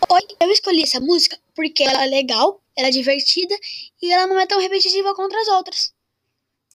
Oi, eu escolhi essa música porque ela é legal, ela é divertida e ela não é tão repetitiva contra as outras.